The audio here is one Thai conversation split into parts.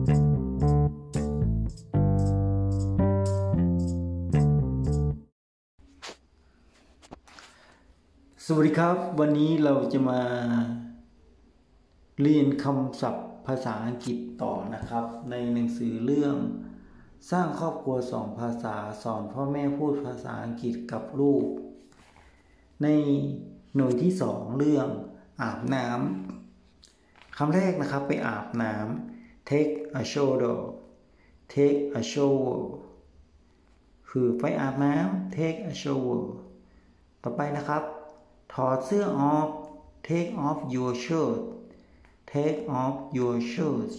สวัสดีครับวันนี้เราจะมาเรียนคำศัพท์ภาษาอังกฤษต่อนะครับในหนังสือเรื่องสร้างครอบครัว2 ภาษาสอนพ่อแม่พูดภาษาอังกฤษกับลูกในหน่วยที่2เรื่องอาบน้ำคำแรกนะครับไปอาบน้ำ take a shower take a shower คือไปอาบน้ำ take a shower ต่อไปนะครับถอดเสื้อออก take off your shirt take off your shirt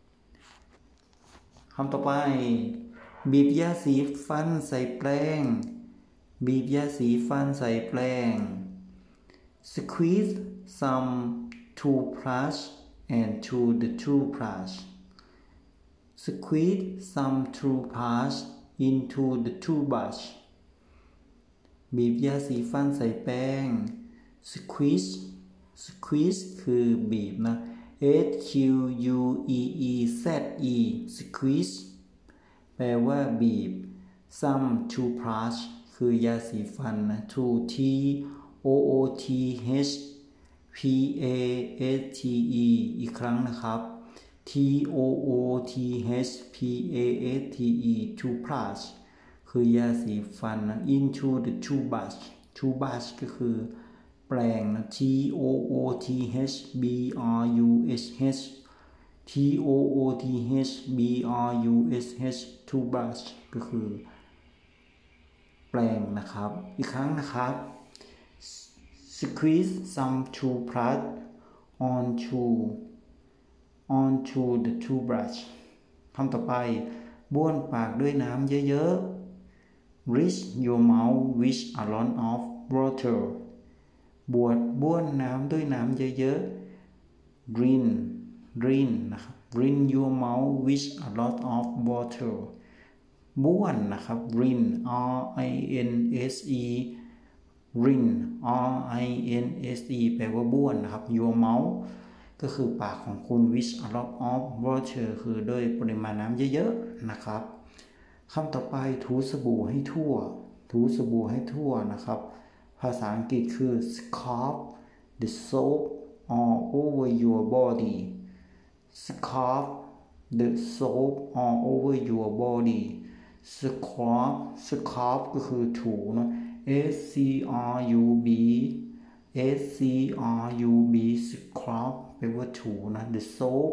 คำต่อไปบีบยาสีฟันใส่แปรงบีบยาสีฟันใส่แปรง squeeze some toothbrush into the toothbrush squeeze some toothbrush into the toothbrush บีบยาสีฟันใส่แป้ง squeeze คือบีบนะ squeeze squeeze แปลว่าบีบ some toothbrush คือยาสีฟันนะ toothอีกครั้งนะครับ toothbrush คือยาสีฟันนะ into the toothbrush ก็คือแปรงนะ toothbrush toothbrush ก็คือแปรงนะครับอีกครั้งนะครับ squeeze some toothbrush onto the toothbrush คำต่อไปบ้วนปากด้วยน้ำเยอะๆ rinse your mouth with a lot of water บ้วนน้ำด้วยน้ำเยอะๆ rinse นะครับ rinse your mouth with a lot of water บ้วนนะครับ rinse rinse แปลว่าบ้วนนะครับ your mouth ก็คือปากของคุณ with a lot of water คือด้วยปริมาณน้ำเยอะๆนะครับคำต่อไปถูสบู่ให้ทั่วนะครับภาษาอังกฤษคือ scrub the soap all over your body scrub the soap all over your body scrub ก็คือถูนะ scrub scrub แปลว่าถูนะ the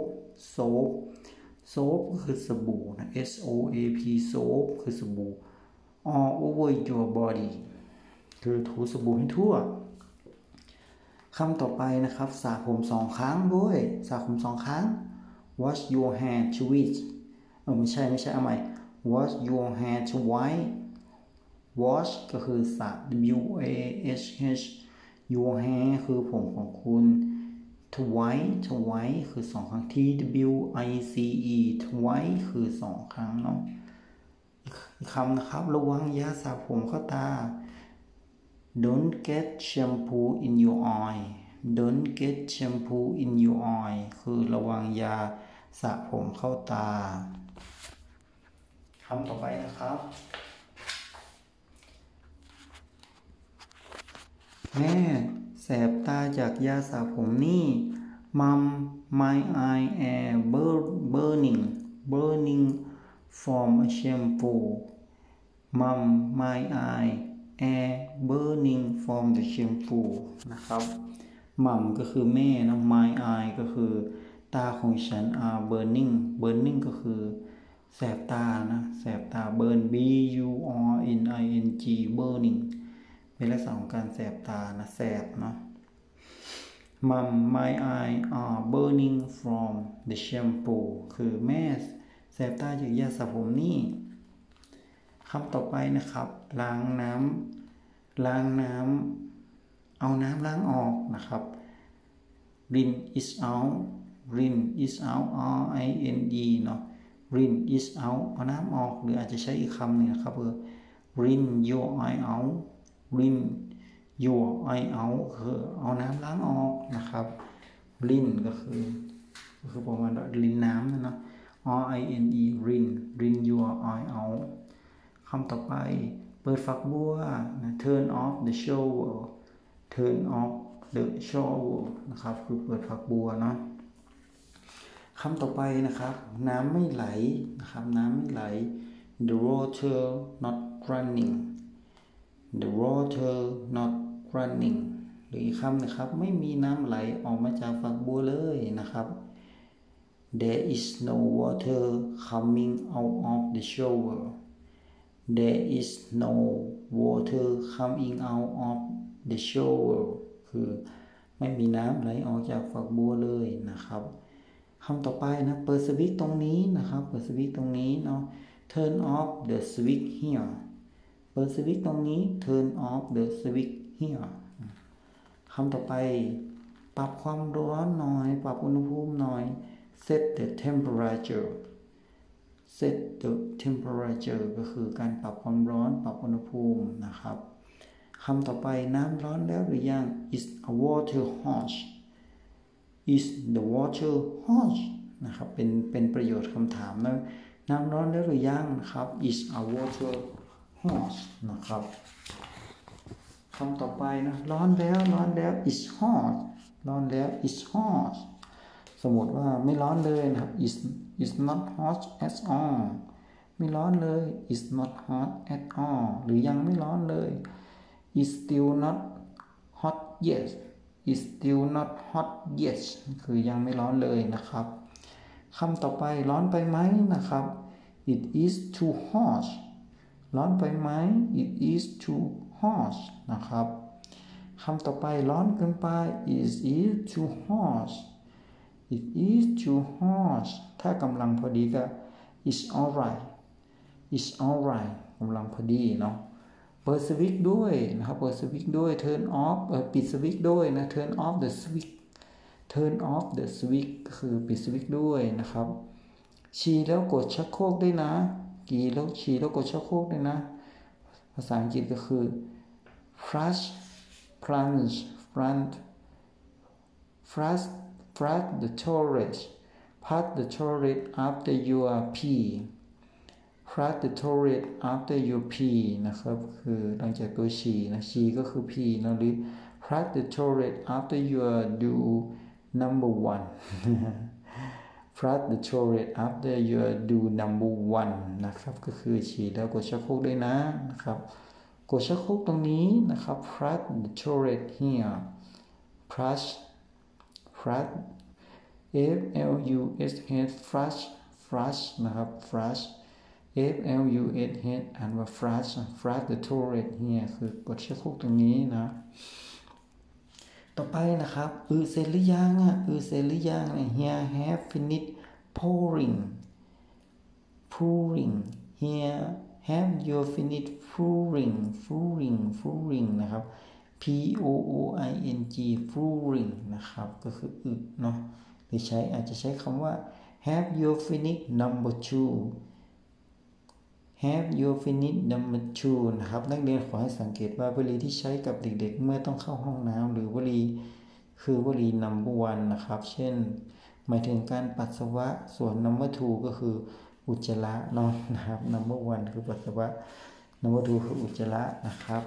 soap ก็คือสบู่นะ soap soap คือสบู่ all over your body คือถูสบู่ให้ทั่วคำต่อไปนะครับสระผม2 ครั้งด้วยสระผม2 ครั้ง wash your hair twice ไม่ใช่เอาใหม่ wash your hair twice wash ก็คือสระ wash your hair คือผมของคุณ twice คือ2 ครั้ง twice twice คือ2 ครั้งเนาะอีกคำนะครับระวังยาสระผมเข้าตา don't get shampoo in your eye คือระวังยาสระผมเข้าตาคำต่อไปนะครับแม่แสบตาจากยาสระผมนี่ Mom my eye are burning from a shampoo Mom my eye are burning from the shampoo นะครับ Mom ก็คือแม่นะ my eye ก็คือตาของฉัน are burning ก็คือแสบตานะแสบตา burn burning เป็นลักษณะของการแสบตานะแสบเนาะ Mom my eye are burning from the shampoo คือแม่แสบตาจากยาสระผมนี่คำต่อไปนะครับล้างน้ำเอาน้ำล้างออกนะครับ rinse it out rinseเนาะ rinse it out เอาน้ำออกหรืออาจจะใช้อีกคำหนึ่งนะครับrinse your eye out คือเอาน้ำล้างออกนะครับ rinse ก็คือประมาณรินน้ำนะเนาะ RINE rin rin your eye out คำต่อไปเปิดฝักบัว turn off the shower turn off the shower นะครับคือเปิดฝักบัวเนาะคำต่อไปนะครับน้ำไม่ไหลนะครับน้ำไม่ไหล the water not running the water not running หรืออีกคำนะครับไม่มีน้ำไหลออกมาจากฝักบัวเลยนะครับ there is no water coming out of the shower there is no water coming out of the shower คือไม่มีน้ำไหลออกจากฝักบัวเลยนะครับคำต่อไปนะเปิดสวิตช์ตรงนี้นะครับเปิดสวิตช์ตรงนี้เนาะ turn off the switch here เปิดสวิตช์ตรงนี้ turn off the switch here คำต่อไปปรับความร้อนหน่อยปรับอุณหภูมิหน่อย set the temperature set the temperature ก็คือการปรับความร้อนปรับอุณหภูมินะครับคำต่อไปน้ำร้อนแล้วหรือยัง is a water hot is the water hot นะครับเป็นประโยชน์คำถามนะน้ำร้อนแล้วหรือยังนะครับ is a water hot นะครับคำต่อไปนะร้อนแล้ว is hot ร้อนแล้ว is hot สมมติว่าไม่ร้อนเลยนะครับ is not hot at all ไม่ร้อนเลย is not hot at all หรือยังไม่ร้อนเลย is still not hot yet is still not hot yet คือยังไม่ร้อนเลยนะครับคำต่อไปร้อนไปไหมนะครับ it is too hot ร้อนไปไหม it is too hot นะครับคำต่อไปร้อนเกินไป is it too hot it is too hot ถ้ากำลังพอดีก็ is alright is alright กำลังพอดีเนาะเปิดสวิตช์ด้วยนะครับเปิดสวิตช์ด้วย turn off ปิดสวิตช์ด้วยนะ turn off the switch turn off the switch ก็คือปิดสวิตช์ด้วยนะครับฉี่แล้วกดชักโครกได้นะฉี่แล้วกดชักโครกได้นะภาษาอังกฤษก็คือ flush plunge flush the toilet the toilet after your pee flush the toilet after your pee นะครับคือหลังจากตัวฉี่นะฉี่ก็คือ pee นะหรือ flush the toilet after your do number one flush the toilet after your do number one นะครับก็คือฉี่แล้วกดชักโครกด้วยนะครับกดชักโครกตรงนี้นะครับ flush the toilet here flush flush นะครับ flush flush อ่านว่า flush the toilet here คือกดชักโครกตรงนี้นะต่อไปนะครับเสร็จหรือยังเสร็จหรือยัง here have finished pouring here have you finished pouring นะครับ pouring นะครับก็คือเนาะหรืออาจจะใช้คำว่า have you finished number two have you finished number two นะครับนักเรียนขอให้สังเกตว่าวลีที่ใช้กับเด็กๆเมื่อต้องเข้าห้องน้ำหรือวลีคือวลี number one นะครับเช่นหมายถึงการปัสสาวะส่วน number two ก็คืออุจจาระเนาะนะครับ number one คือปัสสาวะ number two คืออุจจาระนะครับ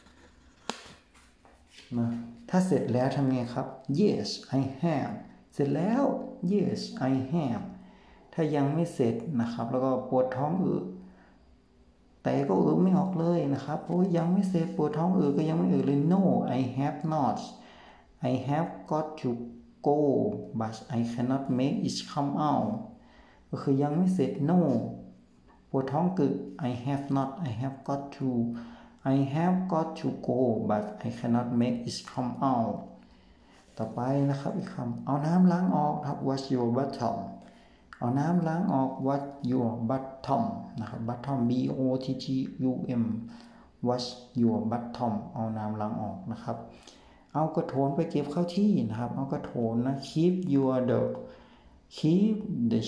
นะถ้าเสร็จแล้วทำไงครับ yes I have เสร็จแล้ว yes I have ถ้ายังไม่เสร็จนะครับแล้วก็ปวดท้องแต่ก็ไม่ออกเลยนะครับโอ้ยยังไม่เสร็จปวดท้องก็ยังไม่เลย no I have not I have got to go but I cannot make it come out ก็คือยังไม่เสร็จ no ปวดท้องI have got to go but I cannot make it come out ต่อไปนะครับอีกคำเอาน้ำล้างออกครับ wash your bottom เอาน้ำล้างออก wash your bottom นะครับ bottom bottom wash your bottom เอาน้ำล้างออกนะครับเอากระโถนไปเก็บเข้าที่นะครับเอากระโถนนะ keep the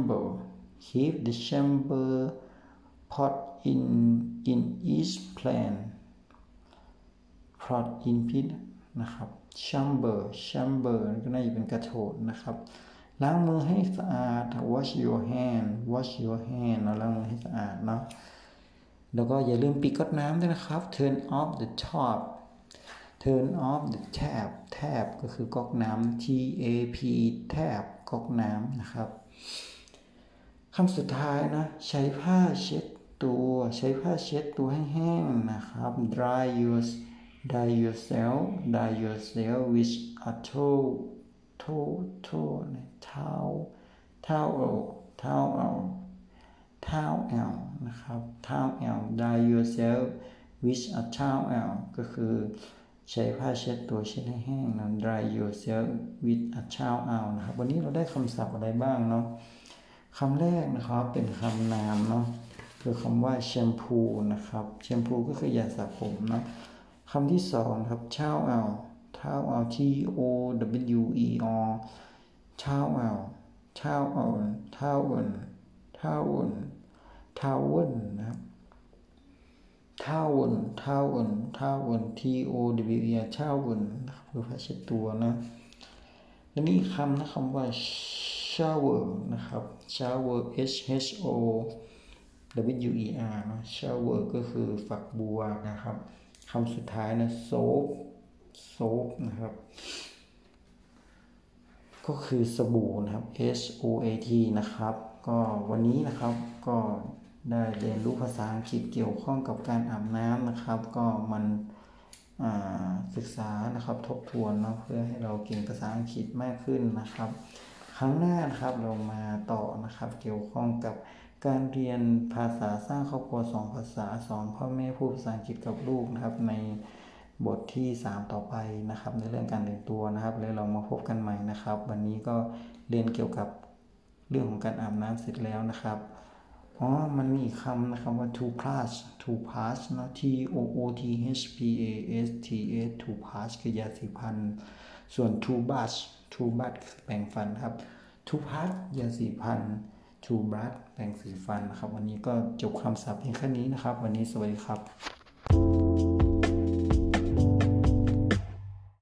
chamber pot in each plant pot in pit นะครับ chamber ก็น่าจะเป็นกระโถนนะครับล้างมือให้สะอาด wash your hand เราล้างมือให้สะอาดเนาะแล้วก็อย่าลืมปิดก๊อกน้ำด้วยนะครับ turn off the tap ก็คือก๊อกน้ำ tap tap ก๊อกน้ำนะครับคำสุดท้ายนะใช้ผ้าเช็ดตัวให้แห้งนะครับ dry yourself with a towel นะครับ towel dry yourself with a towel ก็คือใช้ผ้าเช็ดตัวเช็ดให้แห้งนะ dry yourself with a towel นะครับวันนี้เราได้คำศัพท์อะไรบ้างเนาะคำแรกนะครับเป็นคำนามเนาะคือคำว่าแชมพูนะครับแชมพูก็คือยาสระผมเนาะคำที่สองครับ towel towel นะครับtowel towelคือผ้าเช็ดตัวนะและนี่คำนะคำว่า shower นะครับ showerนะ shower ก็คือฝักบัวนะครับคำสุดท้ายนะ soap นะครับก็คือสบู่นะครับ soat นะครับก็วันนี้นะครับก็ได้เรียนรู้ภาษาอังกฤษเกี่ยวข้องกับการอาบน้ำนะครับก็มันศึกษานะครับทบทวนเนาะเพื่อให้เราเก่งภาษาอังกฤษมากขึ้นนะครับครั้งหน้านะครับเรามาต่อนะครับเกี่ยวข้องกับการเรียนภาษาสร้างครอบครัว2ภาษาสอนพ่อแม่พูดภาษาอังกฤษกับลูกนะครับในบทที่3ต่อไปนะครับในเรื่องการแต่งตัวนะครับแล้วเรามาพบกันใหม่นะครับวันนี้ก็เรียนเกี่ยวกับเรื่องของการอาบน้ำเสร็จแล้วนะครับมันมีอีกคำนะครับว่า toothbrush นะ toothpaste คือยาสีฟันส่วน toothbrush แปรงฟันครับ toothbrush ยาสีฟัน toothbrush แปรงสีฟันนะครับวันนี้ก็จบคำศัพท์เพียงแค่นี้นะครับวันนี้สวัสดีครับ